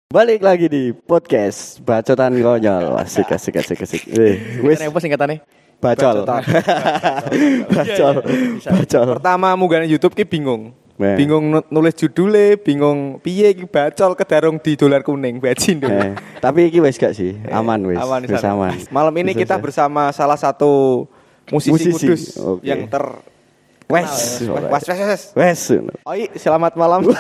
Balik lagi di podcast Bacotan Konyol. Asik. Wis apa singkatannya? Bacol. Bacol. Pertama munggah YouTube ki bingung. Nah. Bingung nulis judule, bingung piye iki bacol kedarung di dolar kuning bajin. Tapi iki wis gak sih? Aman wis. Aman, Wis aman. Malam ini Bisa, kita bisa. bersama salah satu musisi Kudus Oke. yang Wes. Wes. Oi, selamat malam.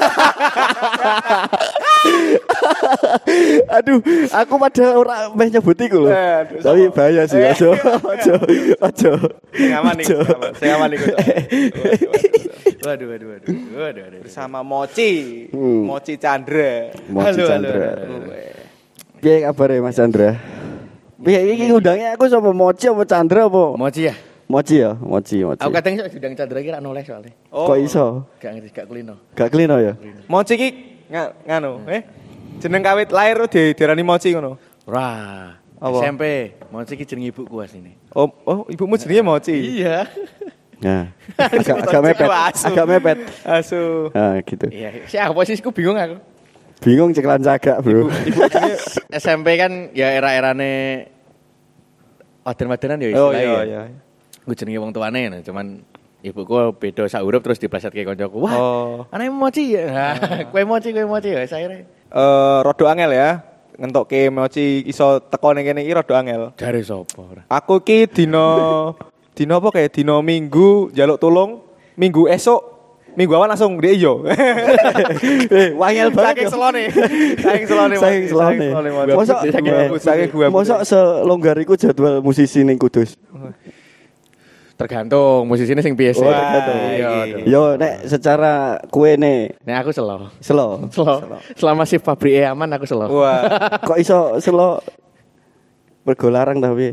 Aduh, aku padahal ora meh nyebut iku lho. Aduh, Tapi bahaya sih, aja. Saya aman nih. Saya aman nih. Waduh. Bersama Moci. Moci Chandra. Moci Chandra. Halo. Piye kabare Mas Chandra? Piye iki ngundangnya aku sama Moci apa Chandra apa? Moci ya? Moci ya, Moci. Aku kadang sok sedang Chandra kira noleh soalnya. Kok iso? Gak ngerti, gak kulino. Gak klino ya? Moci ki nganu, jeneng kawit lahir diarani Moci ngono. Wah, Apa? SMP. Moci ki jeneng ibuku asline. Oh, ibumu jenenge Moci. Iya. Nah, agak mepet. Asu. Nah, gitu. Iya, siapa sih aku bingung aku. Bingung ceklan cagak, Bro. SMP kan ya era-erane waden-wadenan ya Oh istilahnya. iya. Gue jenenge wong tuane, nah, cuman ibuku beda sak huruf terus diplesetke koncoku. Wah, anake Moci ya. Kowe Moci ya saya. Rodo angel ya. Ngentokke Moci iso teko ning kene iki rodo angel. Dari sapa ora? Aku ki dino apa kayak dino Minggu njaluk tulung, Minggu esok, Minggu awan langsung dia iyo. Wangel banget. Saking selone. Mosok selonggar iku jadwal musisi ning Kudus. Tergantung musisinya sing biasa. Yo nek secara kue nek Nek aku selo. Selama si pabrik aman aku selo. Wah. kok iso selo bergolarang tapi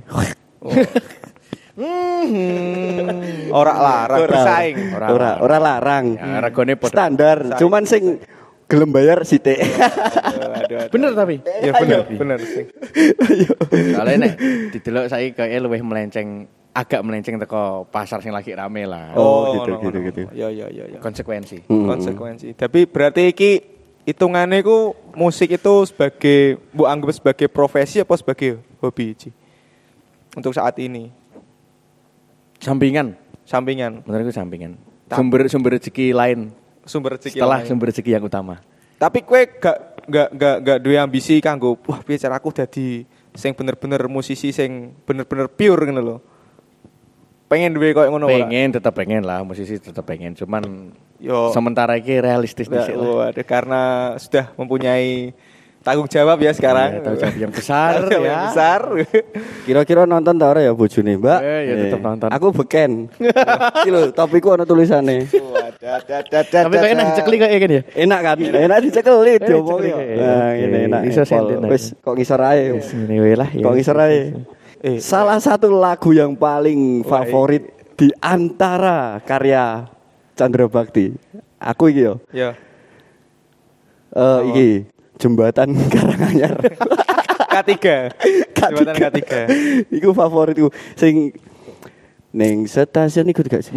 Ora larang bersaing. ora larang. Ya, regane padha. Standar, cuman sing gelem bayar sithik. Aduh. Bener tapi. Ya bener sih. Soalnya nek didelok saiki kaya luwih agak melenceng teko pasar sing lagi rame lah. Oh, gitu. Ya. Konsekuensi. Konsekuensi. Tapi berarti iki hitungane ku musik itu sebagai mbok anggap sebagai profesi apa sebagai hobi Ci? Untuk saat ini. Sampingan. Menurutku sampingan. Sumber rezeki lain Sumber rezeki setelah lain. sumber rezeki yang utama. Tapi kue gak duwe ambisi kanggo wah piye cara aku dadi sing bener-bener musisi sing bener-bener pure ngono lho. Pengen duwe koyo ngono ora? Tetap pengen lah, musisi tetap pengen. Cuman Yo sementara ini realistis dhisik lah. waduh, karena sudah mempunyai tanggung jawab ya sekarang. Ya, tanggung jawab yang besar Yang ya. besar. Kira-kira nonton ta ora ya bojone, Mbak? Ya tetep nonton. Aku beken. Iki lho, topiku ana tulisane. Tapi kayaknya dicekli kayak gini ya. Enak kan? Enak dicekeli diomongi. dicekeli. Nah, ini enak. Bisa senten. Wis kok ngisor ae. Ini lah. Kok ngisor ae. Salah satu lagu yang paling favorit di antara karya Chandra Bakti. Aku iki yo. Ya. Iki Jembatan Karanganyar. K3. Jembatan K3. Iku favoritku sing ning stasiun iku gak sih?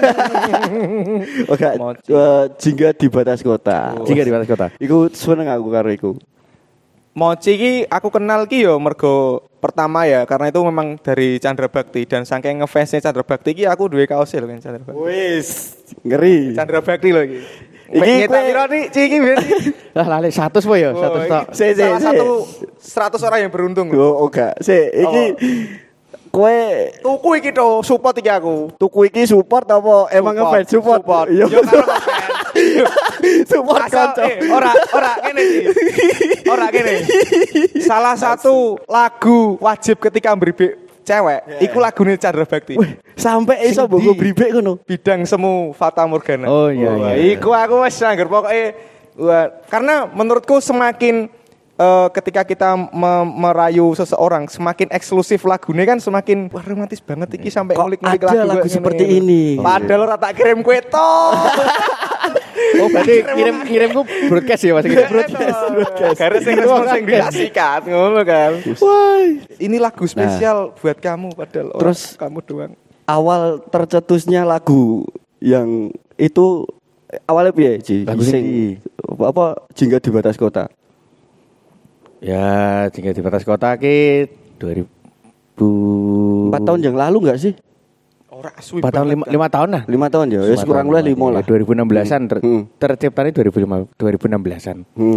Oke, Jingga di Batas Kota. Jingga di Batas Kota. Iku seneng aku karo iku. Moci ki aku kenal ki yo mergo pertama ya karena itu memang dari Chandra Bakti dan saking ngefansnya Chandra Bakti ki aku duwe kaos lho kan Chandra Bakti. Wis, ngeri. Chandra Bakti lho iki. Iki Nyetak piro nih Ci iki berarti? Lah lali 100 po ya, 100 tok. Salah satu 100 orang yang beruntung. Oh, enggak. Iki kowe Tuku iki to, support iki aku. tuku iki support apa emang ngefans support? Iya. Yo karo ngefans. Support kanca. Ora kene iki. Ora kene. Salah satu lagu wajib ketika mbrebek cewek, iku lagune Chandra Bakti. Sampai iso mbok bribek ngono. Bidang semu Fata Morgana. Oh iya. Iku aku wis anggar pokoke karena menurutku semakin ketika kita merayu seseorang semakin eksklusif lagunya kan semakin wah romantis banget iki sampai ngulik-ngulik lagu seperti ini. Padahal ora tak kirim kue to. Oh berarti ngirimku broadcast ya Mas. Broadcast. Garis sing dikasihkan ngono kan. Wah, Ini lagu spesial buat kamu padahal terus kamu doang. awal tercetusnya lagu yang itu awalnya piye, Ji? Lagu Sing apa Jingga di Batas Kota. Ya, tinggal di batas kota ki 2000 4 tahun yang lalu enggak sih? Ora suwi. 4 tahun 5 tahun lah. 5 tahun ya, wis kurang luwih 5 lah. 2016-an terciptane 2016-an.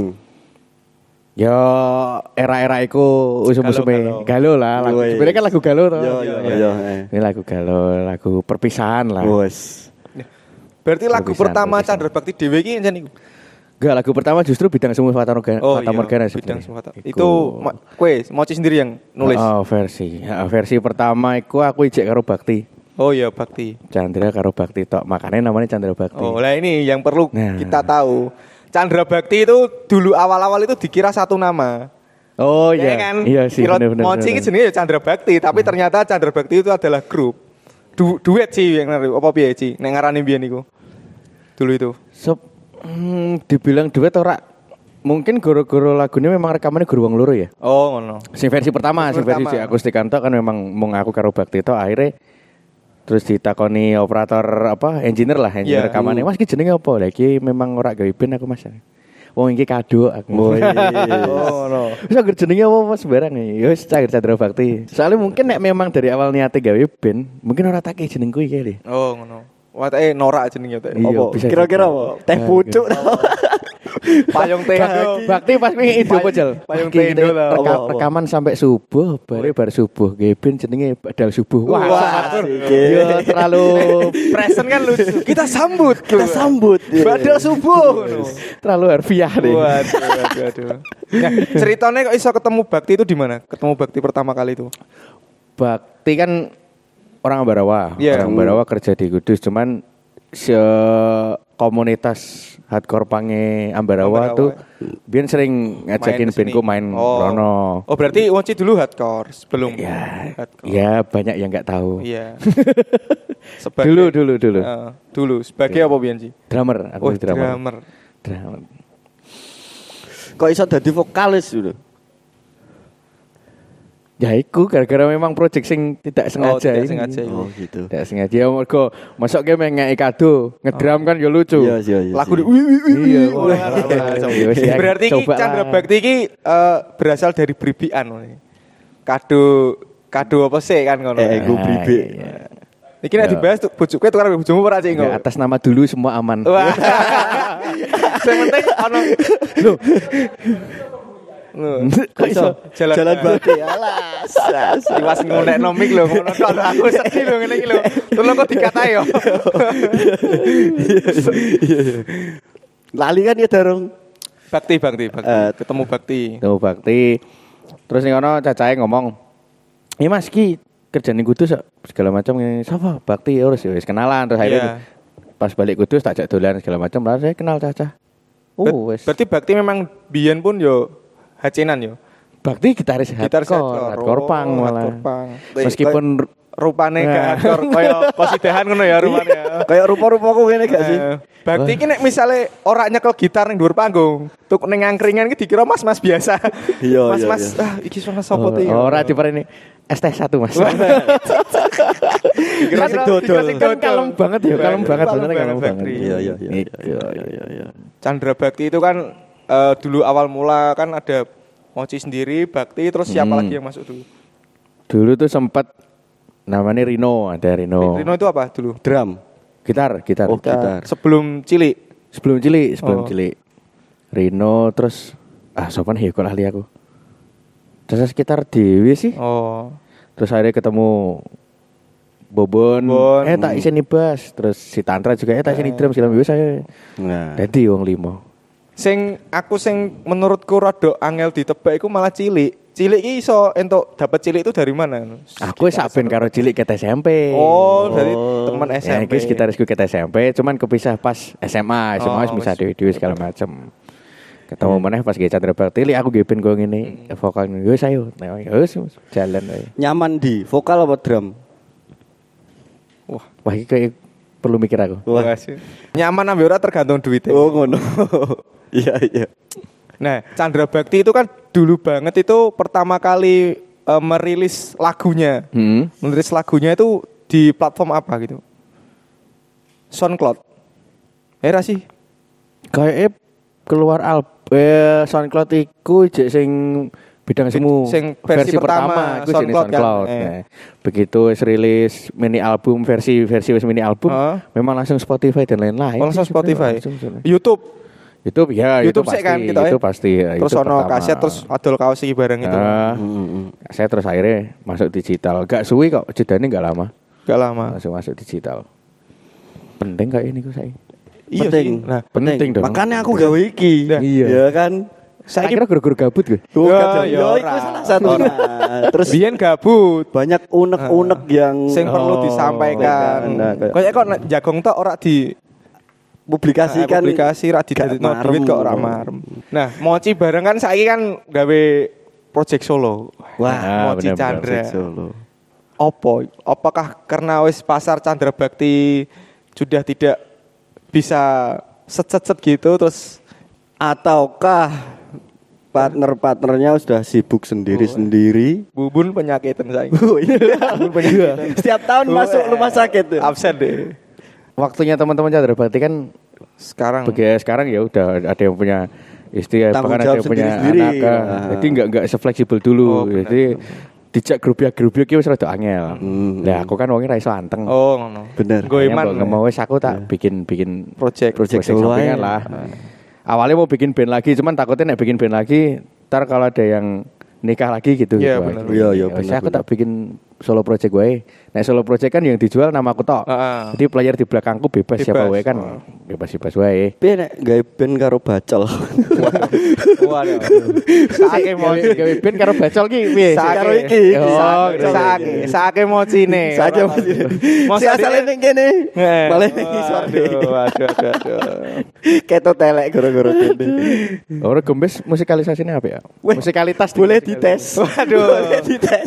Ya era-era iku usum-usume galau lah. Sebenarnya kan lagu galau toh. Iya. Ini lagu galau, lagu perpisahan lah. Wes. Berarti lagu pertama Chandra Bakti dhewe iki jan iku. Enggak, lagu pertama justru Bidang Semu Fata Morgana Bidang sebenarnya. Semu Fata. Itu kowe Moci sendiri yang nulis. Oh, versi pertama iku aku ijek karo Bakti. Oh iya Bakti. Chandra karo Bakti tok. Makanya namanya Chandra Bakti. Oh, lah ini yang perlu kita tahu. Chandra Bakti itu dulu awal-awal itu dikira satu nama. Oh iya. Ya kan? Iya sih benar. Moci ini jenenge ya Chandra Bakti, tapi ternyata Chandra Bakti itu adalah grup. Duet sih yang nari. Apa piye Ci? Nek ngarani biyen iku. Dulu itu. Dibilang duet ora. Mungkin goro-goro lagunya memang rekamannya guru wong loro ya. Oh ngono. Sing versi pertama, sing versi akustik tok kan memang mung aku karo Bakti tok akhirnya terus ditakoni operator engineer rekamannya. Mas iki jenenge apa? Lah iki memang ora gawe band aku Mas. Wong iki kado aku. Oh no. Wis anggere jenenge apa Mas barang ya wis Chandra Bakti. Soalnya mungkin nek memang dari awal niate gawe band, mungkin ora tak jenengku iki lho. Oh ngono. Watake norak jenenge teh. Apa? Kira-kira apa? Teh pucuk. Payung teh. Bakti pas wingi itu apa Jal? Payung tendo lah. Rekaman sampai subuh, bar subuh. Geben jenenge badal subuh. Wah, ya terlalu present kan lucu. Kita sambut. Badal subuh. Terlalu harfiah deh. Waduh. Nah, ceritanya kok iso ketemu Bakti itu di mana? Ketemu Bakti pertama kali itu. Bakti kan orang Ambarawa. Yeah. Orang Ambarawa kerja di Kudus, cuman komunitas hardcore pange Ambarawa tuh biar sering ngajakin bandku main rono. Oh berarti Wonci dulu hardcore sebelum hardcore. Ya banyak yang nggak tahu. Iya. Dulu sebagai apa biyen sih? Drummer, aku drummer. Kok iso dadi vokalis dulu? Ya iku gara-gara memang project sing tidak sengaja. Oh gitu. Tidak sengaja mergo masuk ge ngeki kado, ngedrum kan ya lucu. Iya. Lagu iya. Berarti iki Chandra Bakti iki berasal dari bribian. Kado apa sih kan ngono. Ego bribi. Iki nek dibahas bojoku tuh karo bojomu ora cik ya, atas nama dulu semua aman. Sing penting ono kok iso jalan Bakti alas. Iwas ngonekno mik lho ngono kok aku sedih lho ngene iki lho. Tolong kok dikatai yo. Lali kan ya Darung. Bakti. Ketemu Bakti. Terus ning ono cacahe ngomong, "Iya Mas ki kerjane Kudus segala macam ngene. Sapa? Bakti wis kenalan terus akhirnya pas balik Kudus tak ajak dolan segala macam. Lah saya kenal Caca. Wis. Berarti Bakti memang biyen pun yo hacenan yo. Bakti gitaris hardcore punk malah. Meskipun rupane gak hardcore kaya kosidahan ngono ya rupane. Kayak rupa-rupaku ngene gak sih? Bakti iki nek misale ora nyekel gitar ning dhuwur panggung, tuk ning angkringan iki dikira mas-mas biasa. Iya. Mas, iki suara sapa iki? Ora dipareni ST1 Mas. Dikira sing dodol. Kan kalem banget ya, kalem banget. Iya. Chandra Bakti itu kan dulu awal mula kan ada Moci sendiri, Bakti, terus siapa lagi yang masuk dulu? Dulu tuh sempat namanya Rino, ada Rino. Rino itu apa dulu? Drum. Gitar. Oh, gitar. Sebelum Cilik. Sebelum Cilik. Rino terus sopan ya kok ahli aku. Terus sekitar Dewi sih. Oh. Terus akhirnya ketemu Bobon. Tak iseni bass. Terus si Tantra juga tak iseni drum segala macam saya. Nah. Jadi wong 5. Sing menurutku rada angel ditebak iku malah Cilik. Cilik iki iso entuk dapat Cilik itu dari mana? Aku saben karo Cilik ket SMP. Oh, dari teman SMP. Ya iki gitarisku ket SMP, cuman kepisah pas SMA wis bisa dewe-dewe segala macam. Ketemu meneh pas ge Chandra Bakti, aku ge ben go ngene, vokal yo ayo. Wis jalan ae. Nyaman di vokal apa drum? Wah iki kayak perlu mikir aku. Nyaman ambe ora tergantung duitnya. Oh ngono. Iya. Nah, Chandra Bakti itu kan dulu banget itu pertama kali merilis lagunya. Merilis lagunya itu di platform apa gitu? SoundCloud. Era sih. Kayak keluar SoundCloud iku jek sing bidang semu Sing versi pertama, iku jenenge SoundCloud kan. SoundCloud. Nah, begitu wis rilis mini album versi wis mini album memang langsung Spotify dan lain-lain. Langsung sih, Spotify. langsung. YouTube YouTube ya, YouTube pasti, sih kan kita itu pasti. Ya, terus itu ono pertama. kaset terus adol kaos iki bareng itu. Saya terus akhirnya masuk digital. Gak suwi kok, jedane gak lama. Gak lama. Langsung masuk digital. Penting kayak ini kok saya. Iya penting. sih. Nah, Penting dong. Makanya aku gawe iki. Iya. Ya kan. Saya kira guru-guru gabut gue. Bukan, ya yo, itu ora. salah satunya. Terus biyen gabut. banyak unek-unek yang Sing perlu disampaikan. Nah, kayak- Kayak kok nek jagong tok ora di publikasikan publikasi ra didadekno gak duit kok marem. ora marem. Nah, moci bareng kan saiki kan gawe project solo. Wah, moci bener-bener. Chandra. Solo. Apakah karena wis pasar Chandra Bakti sudah tidak bisa set gitu terus Ataukah partner-partnernya sudah sibuk sendiri-sendiri? bubun penyakitan saya. Oh, iya. Setiap tahun masuk rumah sakit tuh. Absen deh. Waktunya teman-teman Chandra Bakti kan Sekarang sekarang ya udah ada yang punya istri, Tanggung bahkan ada jawab yang punya sendiri-sendiri. anak. Nah. Jadi nggak sefleksibel dulu. Oh, benar. Jadi dijak grup-grup iki wis rada angel. Lah aku kan wongnya ra iso anteng. oh ngono. Bener. Goeman. Nggak mau wis aku tak bikin Project solo sampingan aja. lah. Awalnya mau bikin band lagi, cuman takutnya nek bikin band lagi, ntar kalau ada yang nikah lagi gitu. Iya, gitu. bener. Iya, iya, Wis bener, aku bener. tak bikin solo project gue. Nah solo project kan yang dijual nama aku tok. Heeh. Jadi player di belakangku bebas siapa Bebas. wae kan. Bebas wae. Piye nek gawe band karo bacol? Waduh. Saake moci. Gawe band karo bacol ki piye? Saake. Karo iki. Oh, Saake mocine. Saja si asale ning kene. Malah ning isor. Waduh. Keto telek gara-gara kene. Ora gembes musikalisasinya apa ya? Weh, Musikalitas boleh dites. Waduh. Boleh dites.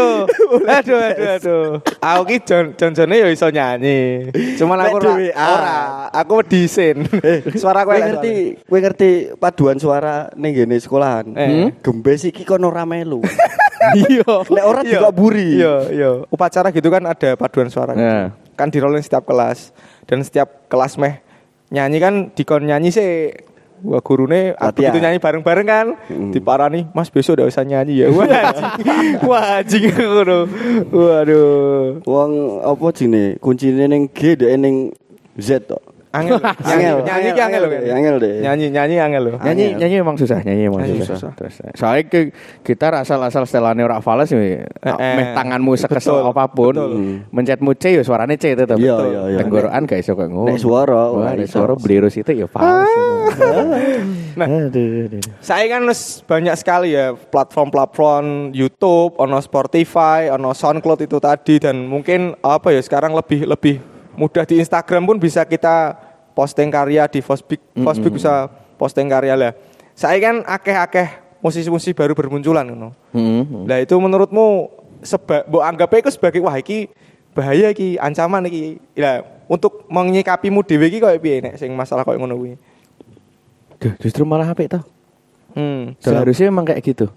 Waduh. Aku ki Jon-jone ya iso nyanyi. Cuman aku Nek dhewean. ora. Aku disin. Suara aku Kowe elek ngerti, kowe ngerti paduan suara ning ngene sekolahan. Gembes iki kono ora melu. Iya. Nek ora juga buri. Iya. Upacara gitu kan ada paduan suara. Gitu. Nah. Kan dirolling setiap kelas. Dan setiap kelas meh nyanyi kan dikon nyanyi sih. Wah gurune Latihan. begitu nyanyi bareng-bareng kan diparani, Mas besok udah usah nyanyi ya. Wah anjing ngono. Waduh. Wong apa jenenge? Kuncine ning G dek ning Z tok. Angel. Nyanyi ki angel lho. Angel deh. Nyanyi angel lho. Nyanyi memang susah, nyanyi Nyanyi susah. susah. Terus soalnya gitar asal setelahnya ora fales meh tanganmu sekesel Betul, apapun, betul. mencetmu C ya suaranya C tetap. Iya, iya, iya. Tenggorokan gak iso kok ngono. Nek suara, wah, ora nek iso. suara blirus itu ya fals. Nah. Aduh. Saya kan wis banyak sekali ya platform YouTube, ono Spotify, ono SoundCloud itu tadi dan mungkin apa ya sekarang lebih mudah di Instagram pun bisa kita posting karya di Facebook bisa posting karya lah. Saya kan akeh-akeh musisi-musisi baru bermunculan ngono. Lah itu menurutmu mbok anggapnya itu sebagai wah iki bahaya iki, ancaman iki. Lah untuk menyikapimu dhewe iki koyo piye nek sing masalah koyo ngono kuwi? Duh, justru malah apik toh. Seharusnya Seharusnya emang kayak gitu.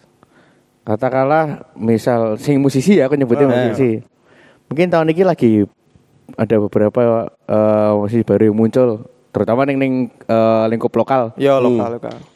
Katakanlah misal sing musisi ya aku nyebutnya musisi. Mungkin tahun ini lagi ada beberapa musisi baru yang muncul, terutama ning lingkup lokal. ya lokal.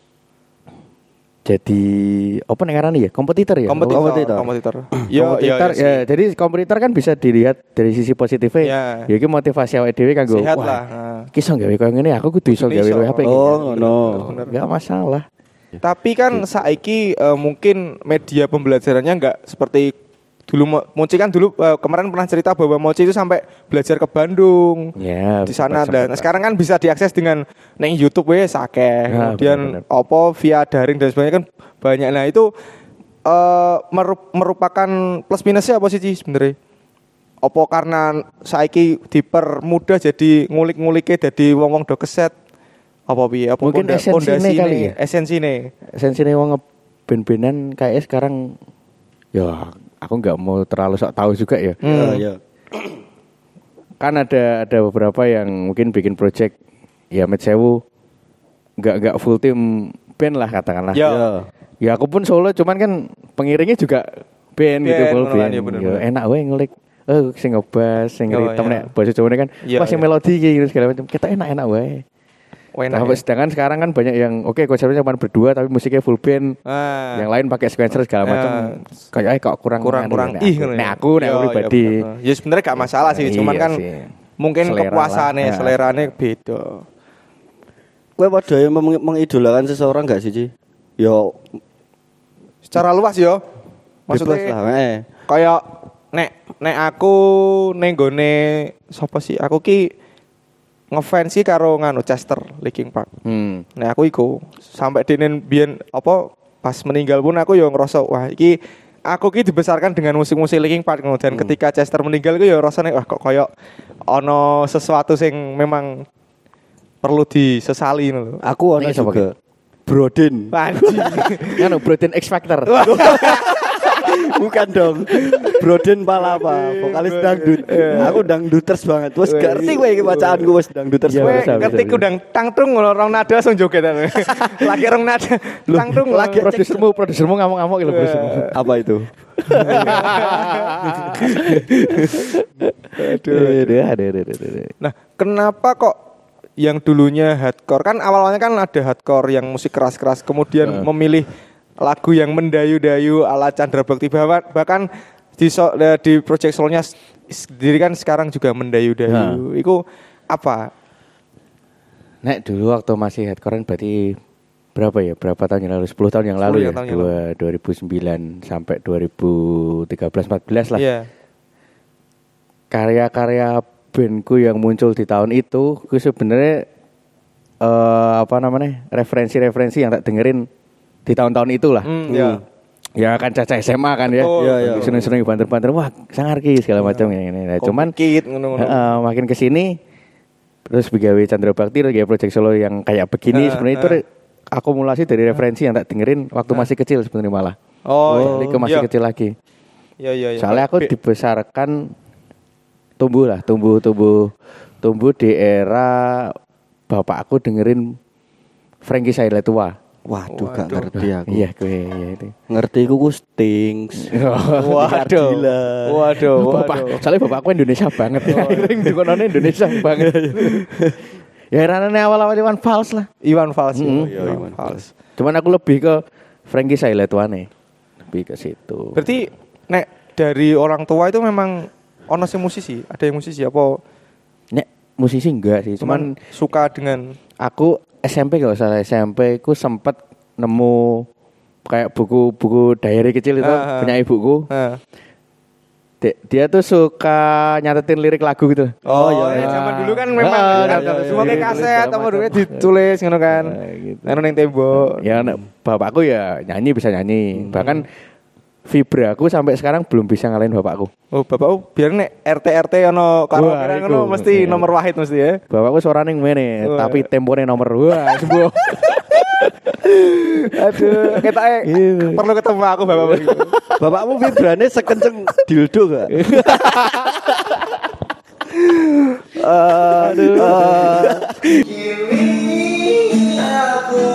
Jadi apa ning ngarani ya? Kompetitor ya? Kompetitor. Yo Kompetitor ya. Jadi kompetitor kan bisa dilihat dari sisi positifnya. Ya. Ya iki motivasi awake dhewe kanggo Sehat wah, lah. Iki iso gawe koyo ngene aku kudu iso gawe Iso. luwih apik. Oh, ngono. Enggak masalah. Tapi kan saiki mungkin media pembelajarannya enggak seperti dulu. Moci kan dulu kemarin pernah cerita bahwa Moci itu sampai belajar ke Bandung. Ya, Di sana sempat. dan sekarang kan bisa diakses dengan neng YouTube wes akeh. Nah, Kemudian benar-benar. apa via daring dan sebagainya kan banyak. Nah, itu merupakan plus minusnya apa sih Ci, sebenarnya? Apa karena saiki dipermudah jadi ngulik-ngulike jadi wong-wong do keset? Apa piye? Apa Mungkin esensine kali ya? Esensine. Esensinya wong nge-band-bandan kayaknya sekarang ya aku nggak mau terlalu sok tahu juga ya. Ya. Kan ada beberapa yang mungkin bikin project ya Met Sewu nggak full team band lah katakanlah. Ya. Ya aku pun solo cuman kan pengiringnya juga band gitu full beneran, band. ya bener, Ya, bener. enak wae ngulik. Sing ngebas, sing Oh, ritme iya. nek bahasa Jawa kan Iya, wah sing iya. melodi gitu segala macam. Kita enak-enak wae. Enak Tapi ya? sedangkan sekarang kan banyak yang konsepnya cuma berdua tapi musiknya full band. Yang lain pakai sequencer segala macam. Kayaknya kok kurang aku pribadi. Ya sebenarnya gak masalah sih, cuman Iya kan sih. mungkin Selera kepuasannya, lah. selerane beda. Kowe padha yang mengidolakan seseorang gak sih, Ci? Yo Secara luas yo. bebas Maksudnya lah, kayak nek aku ning gone sapa sih? Aku ki ngefans sih karo nganu Chester Linkin Park. Nek aku iku sampai denen biyen apa pas meninggal pun aku yo ngerasa wah iki aku ki dibesarkan dengan musik-musik Linkin Park dan ketika Chester meninggal ku yo rasane wah kok koyo ono sesuatu sing memang perlu disesali ngono. Aku ana Ini siapa juga Brodin. Anjing. Kan Broden X Factor. Bukan dong. Brodin Palapa, vokalis dangdut. Aku dangduters banget. Wes ngerti kowe iki bacaanku wes dangduters. Iya, Kowe bisa, ngerti bisa. kudang tangtung rong nada langsung joget aku. Lagi rong nada tangtung lagi Produsermu ngamuk-ngamuk gitu produsermu. Apa itu? Aduh. Nah, kenapa kok yang dulunya hardcore kan awalnya kan ada hardcore yang musik keras-keras kemudian memilih lagu yang mendayu-dayu ala Chandra Bakti bahkan di project solonya sendiri kan sekarang juga mendayu-dayu. Itu apa? Nek dulu waktu masih hardcore berarti berapa ya? Berapa tahun yang lalu? 10 tahun yang lalu 10 ya. tahun yang lalu. 2009 sampai 2013-14 lah. Iya. Karya-karya bandku yang muncul di tahun itu sebenarnya referensi-referensi yang tak dengerin di tahun-tahun itulah. Iya. Ya kan caca SMA kan ya. Betul. Seneng-seneng banter-banter wah sangar ki segala macam ini. Nah, cuman Komplikit, ngono-ngono. makin kesini terus begawe Chandra Bakti terus kayak project solo yang kayak begini sebenarnya itu akumulasi dari referensi yang tak dengerin waktu masih kecil sebenarnya malah. Jadi ke masih kecil lagi. Iya. Soalnya aku dibesarkan tumbuh di era bapak aku dengerin Frankie Sailetua. Waduh, gak ngerti aku. Iya, iya itu. Ngerti ku Stings. Waduh. Soalnya bapak aku Indonesia banget. Ring dukonane Indonesia banget. Ya ranane awal-awal Iwan Fals lah. Iwan Fals. Iwan Fals. Cuman aku lebih ke Frankie Sailetua nih. Lebih ke situ. Berarti nek dari orang tua itu memang ono sing musisi, ada yang musisi apa? Nek musisi enggak sih, cuman suka dengan aku SMP gak usah SMP ku sempet nemu kayak buku-buku diary kecil itu punya ibuku. Dia tuh suka nyatetin lirik lagu gitu. Oh iya, zaman dulu kan memang semua kayak kaset apa dulu ditulis ngono kan. Anu ning tembok. Ya bapakku ya bisa nyanyi. Bahkan vibra aku sampai sekarang belum bisa ngalahin bapakku. Oh, bapakku biar nek RT ono karaoke ngono mesti nomor wahid mesti ya. Bapakku suarane ngene, tapi tempone nomor. Wah, sembuh. Aduh, ketake perlu ketemu aku bapakmu. Bapakmu vibrane sekenceng dildo gak? Kini aku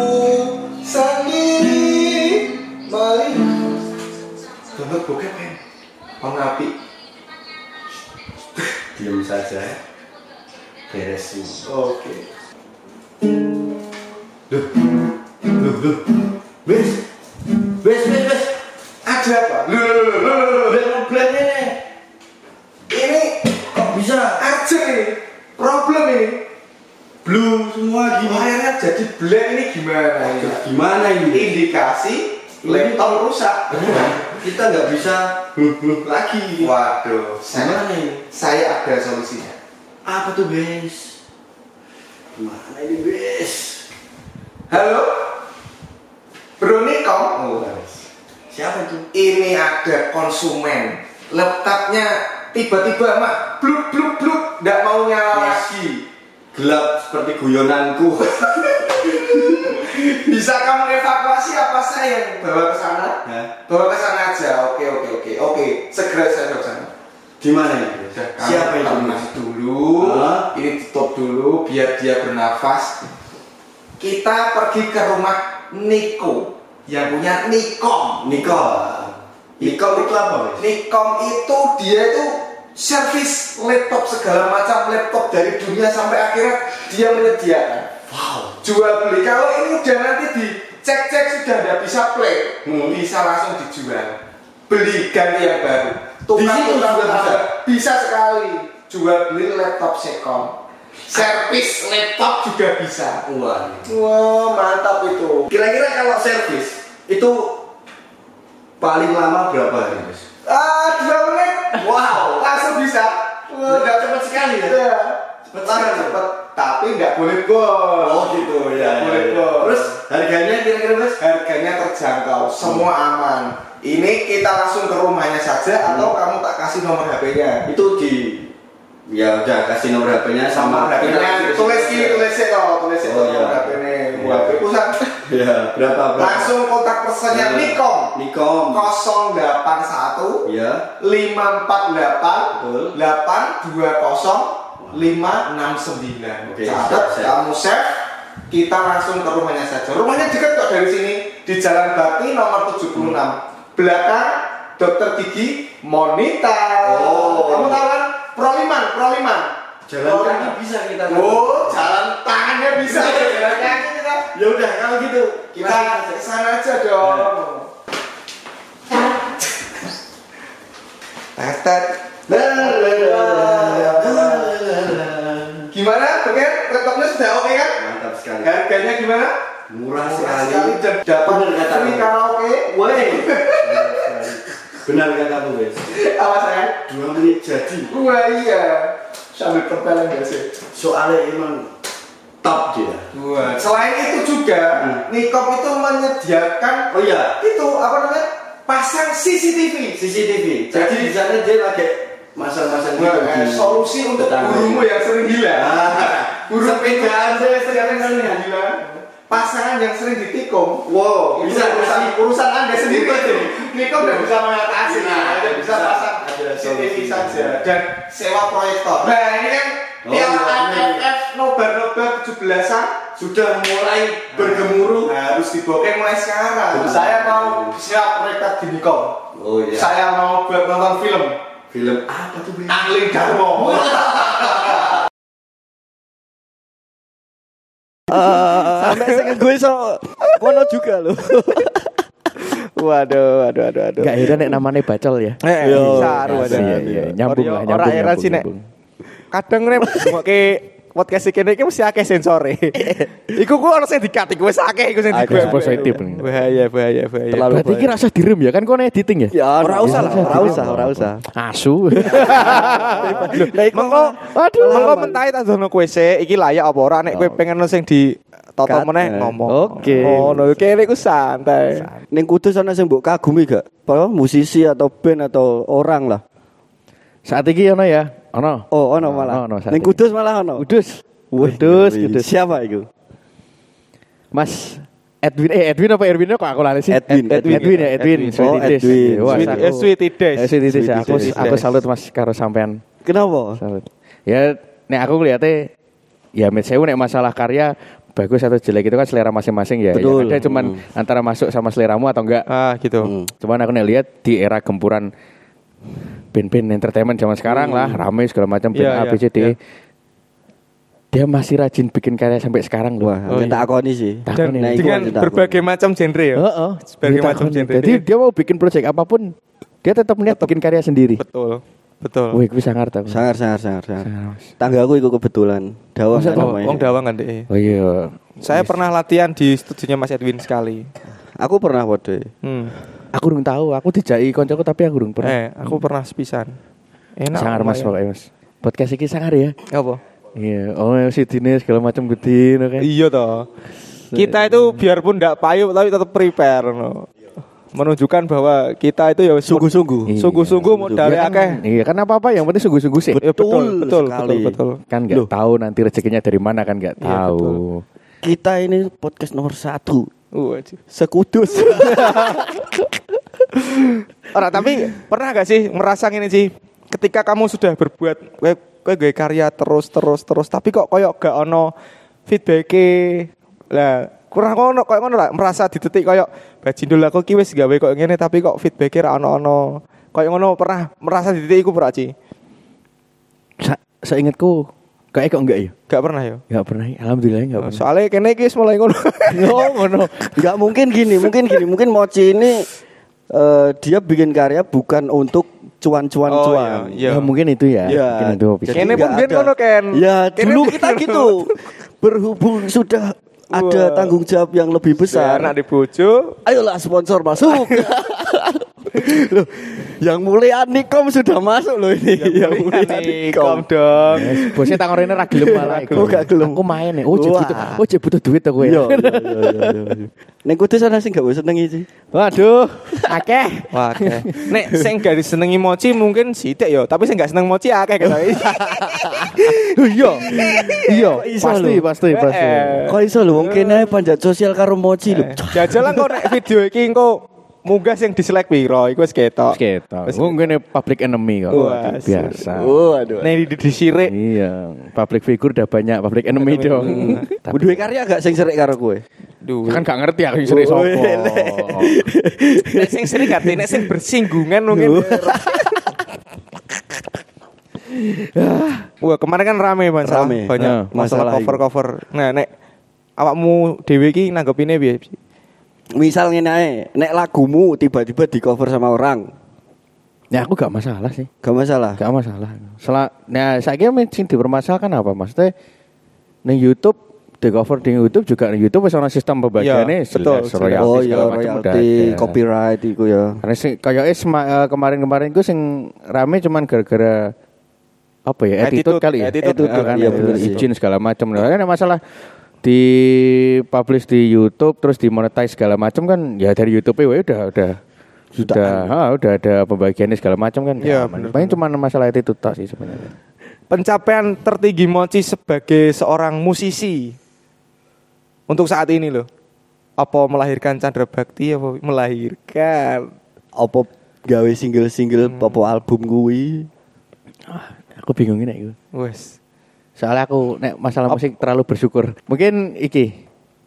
sendiri maling. Download bokep kan? Pengapi. Diam saja. Beresin. Oke. Loh. Wes. Ada apa? Problemnya ini kok bisa aja nih? Problem ini. Blue semua gini. Akhirnya jadi black ini gimana? Gimana ini? Indikasi laptop rusak. Kita nggak bisa lagi. Waduh, Gimana ini? saya ada solusinya. Apa tuh, Bes? Gimana ini, Bes? Halo, Bro Nikom. Oh, siapa itu? Ini ada konsumen. Laptopnya tiba-tiba mak bluk, nggak mau nyala lagi. Gelap seperti guyonanku. Bisa kamu evakuasi apa saya yang bawa ke sana? Bawa ke sana aja. Oke. Segera saya ke sana. Di mana ini? Siapa itu? Tenang dulu. Ini tutup dulu biar dia bernafas. Kita pergi ke rumah Niko yang punya Nikom. Nikom itu apa, Bes? Nikom itu dia itu servis laptop segala macam laptop dari dunia sampai akhirat dia menyediakan Jual beli. Kalau ini udah nanti dicek-cek sudah tidak bisa play, bisa langsung dijual. Beli ganti yang baru. Tukang juga bisa sekali. Jual beli laptop second. Servis laptop juga bisa. Wah, Mantap itu. kira-kira kalau servis itu paling lama berapa hari, Mas? 2 menit. Wow, langsung bisa. Enggak cepat sekali ya? Iya. Cepat. Tapi nggak boleh gol. Oh gitu ya. Boleh gol. Terus harganya kira-kira, Mas? Harganya terjangkau, semua aman. Ini kita langsung ke rumahnya saja atau kamu tak kasih nomor HP-nya? Itu ya udah kasih nomor HP-nya sama HP-nya. Tulis Oh, nomor iya. HP-nya. HP pusat. Ya, berapa? Langsung kontak personnya Nikom. 081 Ya. 548 Betul. 820 569. Oke, Catat, save. kamu save. Kita langsung ke rumahnya saja. Rumahnya dekat kok dari sini, di Jalan Bakti nomor 76. Belakang Dokter Gigi Monita. Oh. Kamu tahu kan? Proliman. Jalan kaki bisa kita. Oh, jalan tangannya bisa. Jalan kaki kita. Ya udah kalau gitu Kita ke sana aja dong. Tetet. Gimana? Oke, laptopnya sudah oke kan? Mantap sekali. Harganya gimana? Murah Sekali sekali. dan dapat Bener katamu. free karaoke. Woi. Benar katamu, Wes. Apa saya? 2 menit jadi. Wah iya. Sambil perpelan gak sih? Soalnya emang top dia. Wah. Selain itu juga, Nikom itu menyediakan Oh iya, itu apa namanya? Pasang CCTV. CCTV. Jadi di sana dia lagi masang-masang gitu. di Solusi untuk tetangga. burungmu yang sering hilang. Burung Sepedaan saya yang sering hilang. Pasangan yang sering ditikung. Wow, Bisa urusan Anda sendiri itu. Nikom udah bisa mengatasi. Nah, Anda bisa bisa. pasang Ada CCTV solusi. saja dan sewa proyektor. Nah, ini kan Oh, Piala iya. AFF nobar 17-an sudah mulai bergemuruh. harus dibokeh mulai sekarang. Saya mau siap proyektor di Nikom. Oh iya. Saya mau buat nonton film. Film apa tuh, Bang? Angling Darmo. Sampai saya gue kono juga loh. Waduh. Gak heran nek namanya bacol ya. Saru Iya, iya. Nyambung lah, Ora nyambung, era sih nek. nyambung. Kadang nek ngoke podcast iki iki mesti akeh sensore. Iku ku ono sing dikat iku wis akeh iku sing Akeh, dibuat. positif. Bahaya. Terlalu Berarti ki rasa direm ya kan kau editing ya? Ya, ora usah lah, ora usah. Asu. Lah iku Mengko mentai tak dono kowe sik iki layak apa ora nek kowe pengen ono sing di toto Cut. meneh ngomong. Oke. Ngono kene iku santai. Ning Kudus ana sing mbok kagumi gak? Apa musisi atau band atau orang lah. Saat ini ono ya, ono. Oh, ono malah. Ono, saat Ning ini. Kudus malah ono. Kudus. Wih, Kudus. Siapa itu? Mas Edwin apa Erwin kok aku lali sih? Edwin. Edwin. Oh, Edwin. Wah, Sweet Days. Sweet Days. Sweet Days. Aku salut Mas karo sampean. Kenapa? Salut. Ya nek aku ngeliate ya met sewu nek masalah karya bagus atau jelek itu kan selera masing-masing ya. Betul. Yang ada cuman antara masuk sama seleramu atau enggak. Ah, gitu. Cuman aku nek lihat di era gempuran band-band entertainment zaman sekarang lah, rame segala macam band Iya, A, B, C, D. iya. Dia masih rajin bikin karya sampai sekarang loh. Wah, tak akoni sih. Takon Dan ya. Nah, iku dengan aja tak berbagai macam genre ya. Heeh. Berbagai Dia macam takon. genre. Jadi dia mau bikin project apapun, dia tetap niat bikin karya sendiri. Betul. Wih, gue sangar tau. Sangar. Sangar. Tanggaku itu kebetulan. Dawang Masa kan toh? namanya. Wong Dawang kan deh. Oh iya. Saya pernah latihan di studionya Mas Edwin sekali. Aku pernah waduh. Aku belum tahu, aku dijai koncoku tapi aku belum pernah. Aku pernah sepisan. Enak. Sangar Mas lumayan. pokoknya Mas. Podcast ini sangar ya. Apa? Iya, oh si Dine segala macam gede oke. Iya toh. Kita itu biarpun tidak payu tapi tetap prepare no. Menunjukkan bahwa kita itu ya Sungguh-sungguh. sungguh-sungguh modalnya akeh. Iya, kan apa-apa yang penting sungguh-sungguh sih. Ya, betul sekali. betul. Kan nggak tahu nanti rezekinya dari mana kan nggak Iya, tahu. Kita ini podcast nomor 1. Anjir. Sekudus. Ora, tapi pernah gak sih merasa gini sih, ketika kamu sudah berbuat kowe gawe karya terus tapi kok koyo gak ono feedback-e. Lah, kurang ngono koyo ngono lah, merasa di titik koyo bajindul aku ki wis gawe koyo ngene tapi kok feedback-e ra ono-ono. Koyo ngono pernah merasa di titik iku ora, Ci? Seingatku Kayak kok enggak ya? Gak pernah ya. Enggak pernah. Alhamdulillah enggak pernah. Soalnya kene iki wis mulai ngono. Oh, ngono. Enggak mungkin gini, mungkin Mochi ini dia bikin karya bukan untuk cuan-cuan. Iya. Ya, mungkin itu ya. Ya. Mungkin itu. Jadi Kene pun nggak biyen ada. ngono Ken. Ya, Kene dulu biyen kita ngono. gitu. Berhubung sudah ada tanggung jawab yang lebih besar. Anak di bojo. Ayolah sponsor masuk. Loh, yang mulia Nikom sudah masuk loh ini. Yang mulia Nikom dong. Yes, bosnya tak ngorene ra gelem malah. Oh, gak gelem. Aku main nih. Oh, Wah. jek butuh duit aku Iya, ya. iya. Neng Kudus ana sing gak senengi sih. Waduh, akeh. Wah, akeh. Nek sing gak disenengi Mochi mungkin sithik ya, tapi sing gak seneng Mochi akeh gitu. Iya. Iya, iso pasti. Kok iso lho wong kene panjat sosial karo Mochi lho. Jajalan kok nek video iki engko munggah sing dislike piro iku wis ketok. Ketok. Mungkin public enemy kok. Wah, Biasa. Waduh. Nek disirik. Iya, public figure udah banyak public enemy dong. Duwe karya gak sing serik karo kowe? Duh. Kan gak ngerti aku sering sopo. Nek sing sering gak nek sing bersinggungan mungkin. Wah, kemarin kan rame masalah Rame. banyak masalah Masalah cover-cover. Nah, nek awakmu dhewe iki nanggepine piye? Misal ngene ae, nek lagumu tiba-tiba di cover sama orang, Ya aku gak masalah sih. gak masalah. Gak masalah. Nah, saya sing dipermasalahkan apa? Maksudnya ning YouTube di cover di YouTube juga di YouTube wis ana sistem pembagiannya Iya, betul. royalti Oh segala iya, macam udah royalti, ada. copyright iku ya. Karena sing kayaknya kemarin-kemarin itu sing rame cuman gara-gara apa ya attitude kali ya Attitude, kan iya, bener sih. izin segala macam. Nah, ada masalah di publish di YouTube terus dimonetize segala macam kan ya dari YouTube udah ada pembagiannya segala macam kan. Iya, aman. bener. Paling cuma masalah attitude tok sih sebenarnya. Pencapaian tertinggi Mochi sebagai seorang musisi untuk saat ini loh. Apa melahirkan Chandra Bakti apa melahirkan? Apa gawe single-single apa album kuwi? Aku bingung ini iku. Wes. Soalnya aku nek masalah musik terlalu bersyukur. Mungkin iki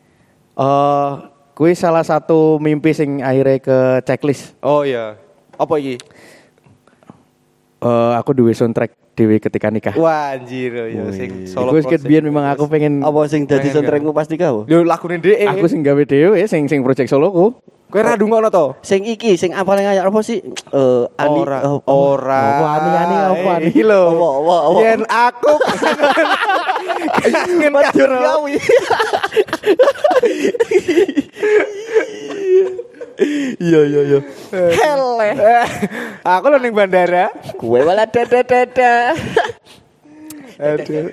kuwi salah satu mimpi sing akhirnya ke checklist. Oh iya. Apa iki? Aku duwe soundtrack dhewe ketika nikah. Wah anjir ya sing solo. Iku wis biyen memang aku pengen Apa sing dadi Pengen soundtrackmu pasti kau? Lho lagune dhek. aku sing gawe dhewe sing project soloku. Kowe ra ndungokno to? Sing iki, sing apa yang ngayak apa sih? Ani Ora. Apa ani apa ani? Iki lho. Apa? Yen aku kangen Matur karo gawi. Iya. hele. Aku lho ning bandara. Kue wala dada. Aduh.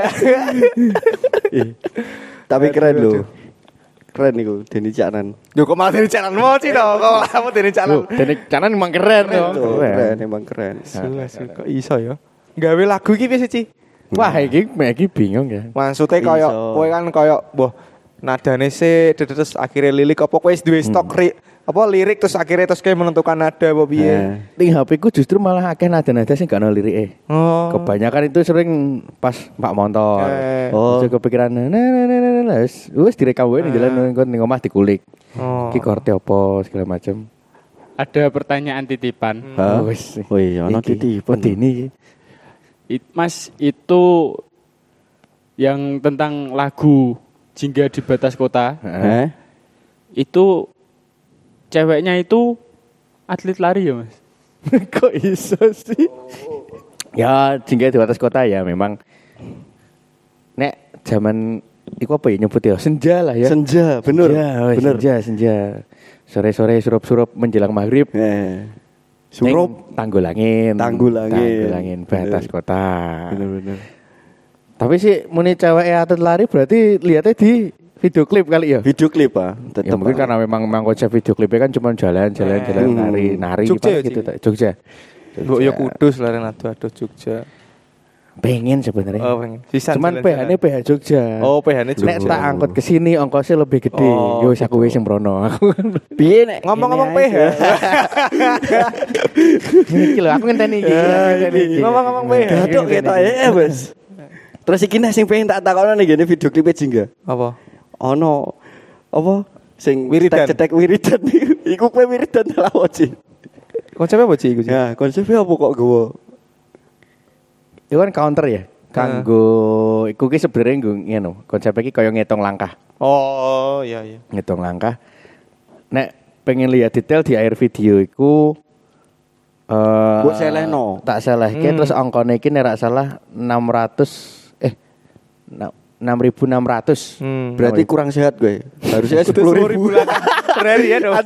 Tapi keren loh. Keren iku Denny Caknan. Yo kok malah dari jalan Mochi to? Kok malah dari jalan. Dene canan emang keren yo. Keren, emang keren. Kok iso ya? Gawe lagu iki piye sih, Ci? Wah, iki bingung ya. Maksudnya Iso. koyo kowe kan koyo boh nadane sih terus akhirnya lirik apa kowe wis duwe stok lirik terus akhirnya terus kayak menentukan nada apa piye. Ning HP ku justru malah akeh nada-nada sing gak ono lirike. Oh. Kebanyakan itu sering pas Pak Montor. Oh. Terus kepikiran wis direkam wae ning jalan ning omah dikulik. Oh. Iki korte apa segala macam. Ada pertanyaan titipan. Hah? Wis. Wih, ono Iki, titipan. Medeni iki. Mas, itu yang tentang lagu Jingga di Batas Kota, itu ceweknya itu atlet lari ya, Mas? Kok iso sih? Ya, jingga di atas kota ya memang. Nek zaman iku apa ya nyebut ya? Senja lah ya. Senja, bener. Bener. Senja. Sore-sore surup-surup menjelang maghrib. Surup Tanggulangin batas Bener. kota. bener. Tapi sih muni cewek atlet lari berarti lihatnya di video klip kali ya. Video klip ah, Ya tetep. mungkin karena memang konsep video klipnya kan cuma jalan nari Jogja ya, gitu. Ci? Jogja. Mbok yo Kudus lah aduh Jogja. Pengen sebenarnya. Oh, pengen. Sisan Cuman jalan-jalan. PH-nya PH Jogja. Oh, PH-nya Jogja. Nek tak angkut ke sini ongkosnya lebih gede. Oh, Yo wis aku wis sing mrono. Aku Piye nek Ngomong-ngomong ini PH. aja. iki lho aku ngenteni iki. Ngomong-ngomong PH. Gatuk ketok Bos. Terus iki nek sing pengen tak takono nih gini video klip Jingga. Apa? Ono apa sing Wiridan. cetek wiridan iku kowe wiridan lah Ci. Konsepnya apa, Ci iku, Ci? Ya, konsepnya apa kok gowo? Itu kan counter ya. Kanggo iku ki sebenarnya ngono. Konsep iki kaya ngitung langkah. Oh, iya. Ngitung langkah. Nek pengen lihat detail di akhir video iku Mbok selehno. tak selehke terus angkane iki nek ra salah 6.600. Berarti kurang sehat gue. Harusnya 10.000 per hari ya dong.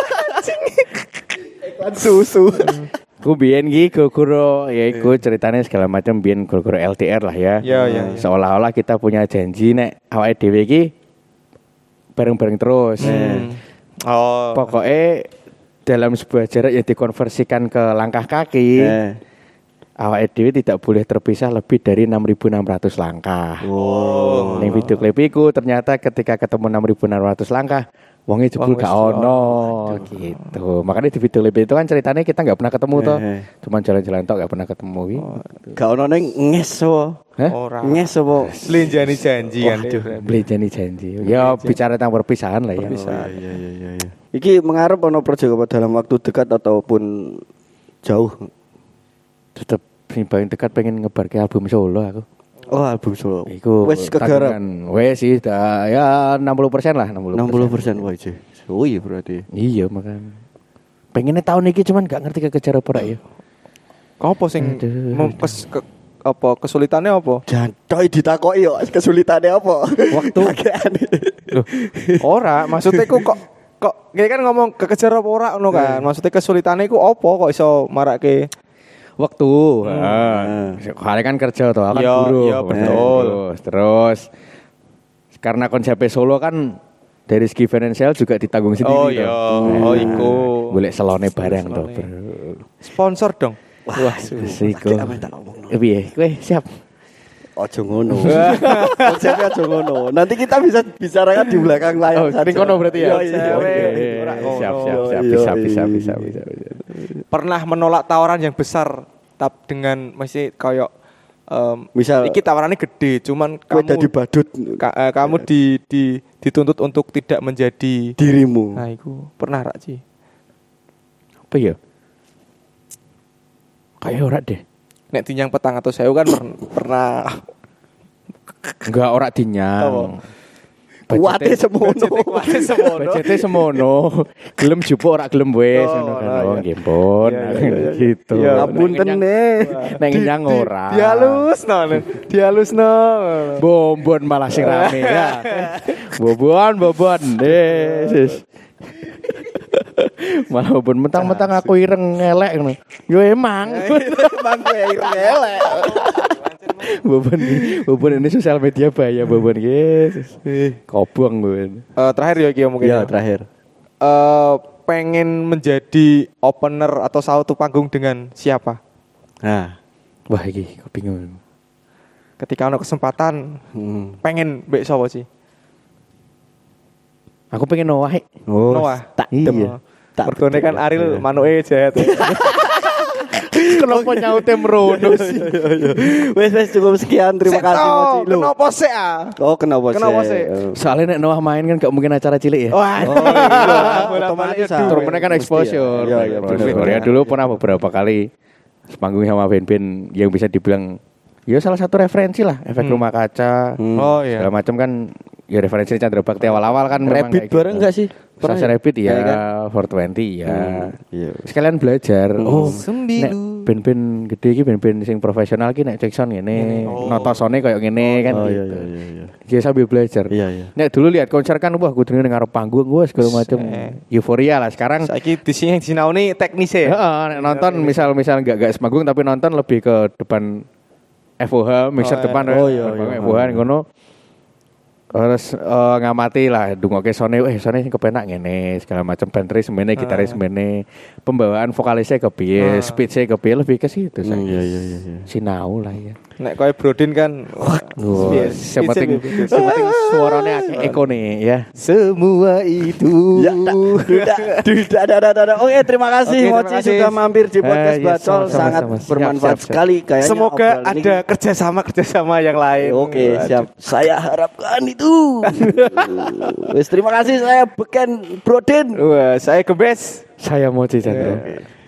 Iklan susu. Ku biyen iki guru ya iku ceritanya segala macam biyen guru LDR lah ya. Iya. Seolah-olah kita punya janji nek awake dhewe iki bareng-bareng terus. Oh. Pokoknya dalam sebuah jarak yang dikonversikan ke langkah kaki, awake dhewe tidak boleh terpisah lebih dari 6.600 langkah. Oh. Ning video klip iku ternyata ketika ketemu 6.600 langkah, wonge jebul gak ono gitu. Makanya di video klip itu kan ceritanya kita nggak pernah ketemu toh. Cuman jalan-jalan tok gak pernah ketemu iki. Gak ono ning ngeso. Ora. Ngeso. Selinjani janji kan. Beli janji. Ya bicara tentang perpisahan lah ya. Iya. Iki mengharap ono proyek apa dalam waktu dekat ataupun jauh? Tetep sing paling dekat pengen ngebarke album solo aku. Oh, album solo. Iku wes kegarap. Wes sih ya 60% lah, 60%. 60% wajib. Oh iya berarti. Iya makanya. Pengennya tahun ini cuman gak ngerti kekejar apa ya. Apa sing apa kesulitannya apa? Jantoy ditakoki yo kesulitannya apa? Waktu. Loh, ora, maksudnya kok kayak kan ngomong kekejar apa ora ngono kan. Maksudnya kesulitannya iku apa kok iso marake waktu. Soalnya kan kerja toh, kan guru. Iya, betul. Terus karena konsepnya solo kan dari segi finansial juga ditanggung sendiri. Oh iya, oh iku. Boleh selone barang toh. Sponsor dong. Wah, iku. Piye? Kowe siap? Ojo ngono. Konsepnya ojo ngono. Nanti kita bisa bicarakan di belakang layar. Ini kono berarti ya. Siap. Bisa. Pernah menolak tawaran yang besar dengan masih kayak misal iki tawarannya gede, cuman kamu dadi badut. Kamu dituntut untuk tidak menjadi dirimu. Nah, iku pernah rak Ci? Apa ya? Kayak ora deh. Nek tinyang petang atau sewu kan pernah. Enggak ora dinyang. Kuate semono. Budgete semono. Gelem jupo ora gelem wis ngono kan. Oh nggih pun. Gitu. Ngapunten nek nyang ora. Dihalusno. Bombon malah sing rame ya. Bobon. Sis. Malah bobon mentang-mentang aku ireng ngelek ngono. Yo emang kowe ireng elek. Bobon ini sosial media bahaya Bobon guys. Kobong Bobon. Terakhir ya Ki mungkin. Ya, terakhir. Pengen menjadi opener atau satu panggung dengan siapa? Nah, wah iki aku bingung. Ketika ada kesempatan, pengen mbek sapa sih? Aku pengen Noah. Noah. Tak iya. Mergone kan Ariel manuke jet. Kenapa nyaute merono sih? Wes cukup sekian. Terima kasih Moci. Kenapa sih? Oh, kenapa sih? Soalnya nek Noah main kan gak mungkin acara cilik ya. Wah. Otomatis turunnya kan exposure. Ya dulu pernah beberapa kali sepanggung sama band-band yang bisa dibilang ya salah satu referensi lah, Efek Rumah Kaca. Oh iya. Segala macam kan ya referensi Chandra Bakti awal-awal kan memang Rabbit bareng enggak sih? Sasa Rabbit ya, 420 ya. Sekalian belajar. Oh, nek band-band gede iki band-band sing profesional ki nek Jackson ngene, notosone koyo ngene kan gitu. Iya. Sambil belajar. Iya. Nek dulu lihat konser kan wah kudune ning ngarep panggung wah segala macam. Euforia lah sekarang. Saiki di sini sinaune teknisnya. Heeh, nek nonton misal enggak semanggung tapi nonton lebih ke depan FOH mixer depan FOH ngono. Terus ngamati lah dungoke sone sone sing kepenak ngene segala macam bandris semene gitaris semene pembawaan vokalisnya kepiye speech-nya kepiye lebih ke situ saya. Iya. Sinau lah ya. Nek kowe Brodin kan sepenting suaranya ekone ya. Semua itu. Ya, Oke, terima kasih Moci sudah mampir di podcast Bacol, sangat bermanfaat sekali kayaknya. Semoga ada kerjasama yang lain. Oke, siap. Saya harapkan itu. Wes terima kasih, saya Beken Brodin. Wah, saya Gebes. Saya Moci Chandra.